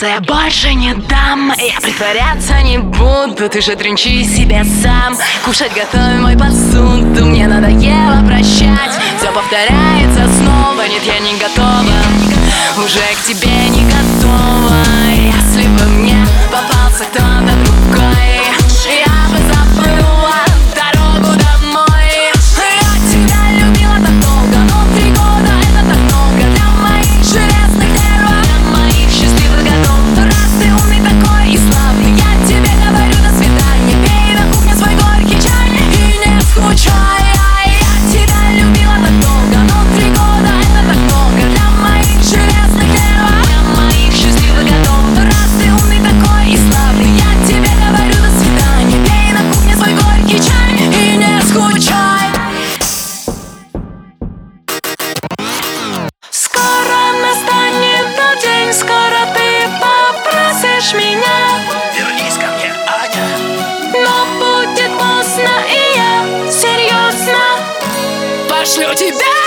Сдаться я больше не дам, я притворяться не буду. Ты же тринчи себе сам, кушать готовь мой посуду. Мне надоело прощать, все повторяется снова. Нет, я не готова, уже к тебе не готова. Если бы мне попался кто-то другой, я бы забыла дорогу домой. Я тебя любила так долго, но 3 года это так много для моих железных нервов, для моих счастливых годов. Раз ты умный такой и славный, я тебе говорю до свидания. Пей на кухне свой горький чай и не скучай. Я тебя любила так долго, но 3 года это так много для моих железных нервов, для моих счастливых годов. Раз ты умный такой и славный, я тебе говорю до свидания. Пей на кухне свой горький чай и не скучай. Скоро настанет тот день, скоро ты попросишь меня: вернись ко мне, Аня. но будет поздно, и я серьезно пошлю тебя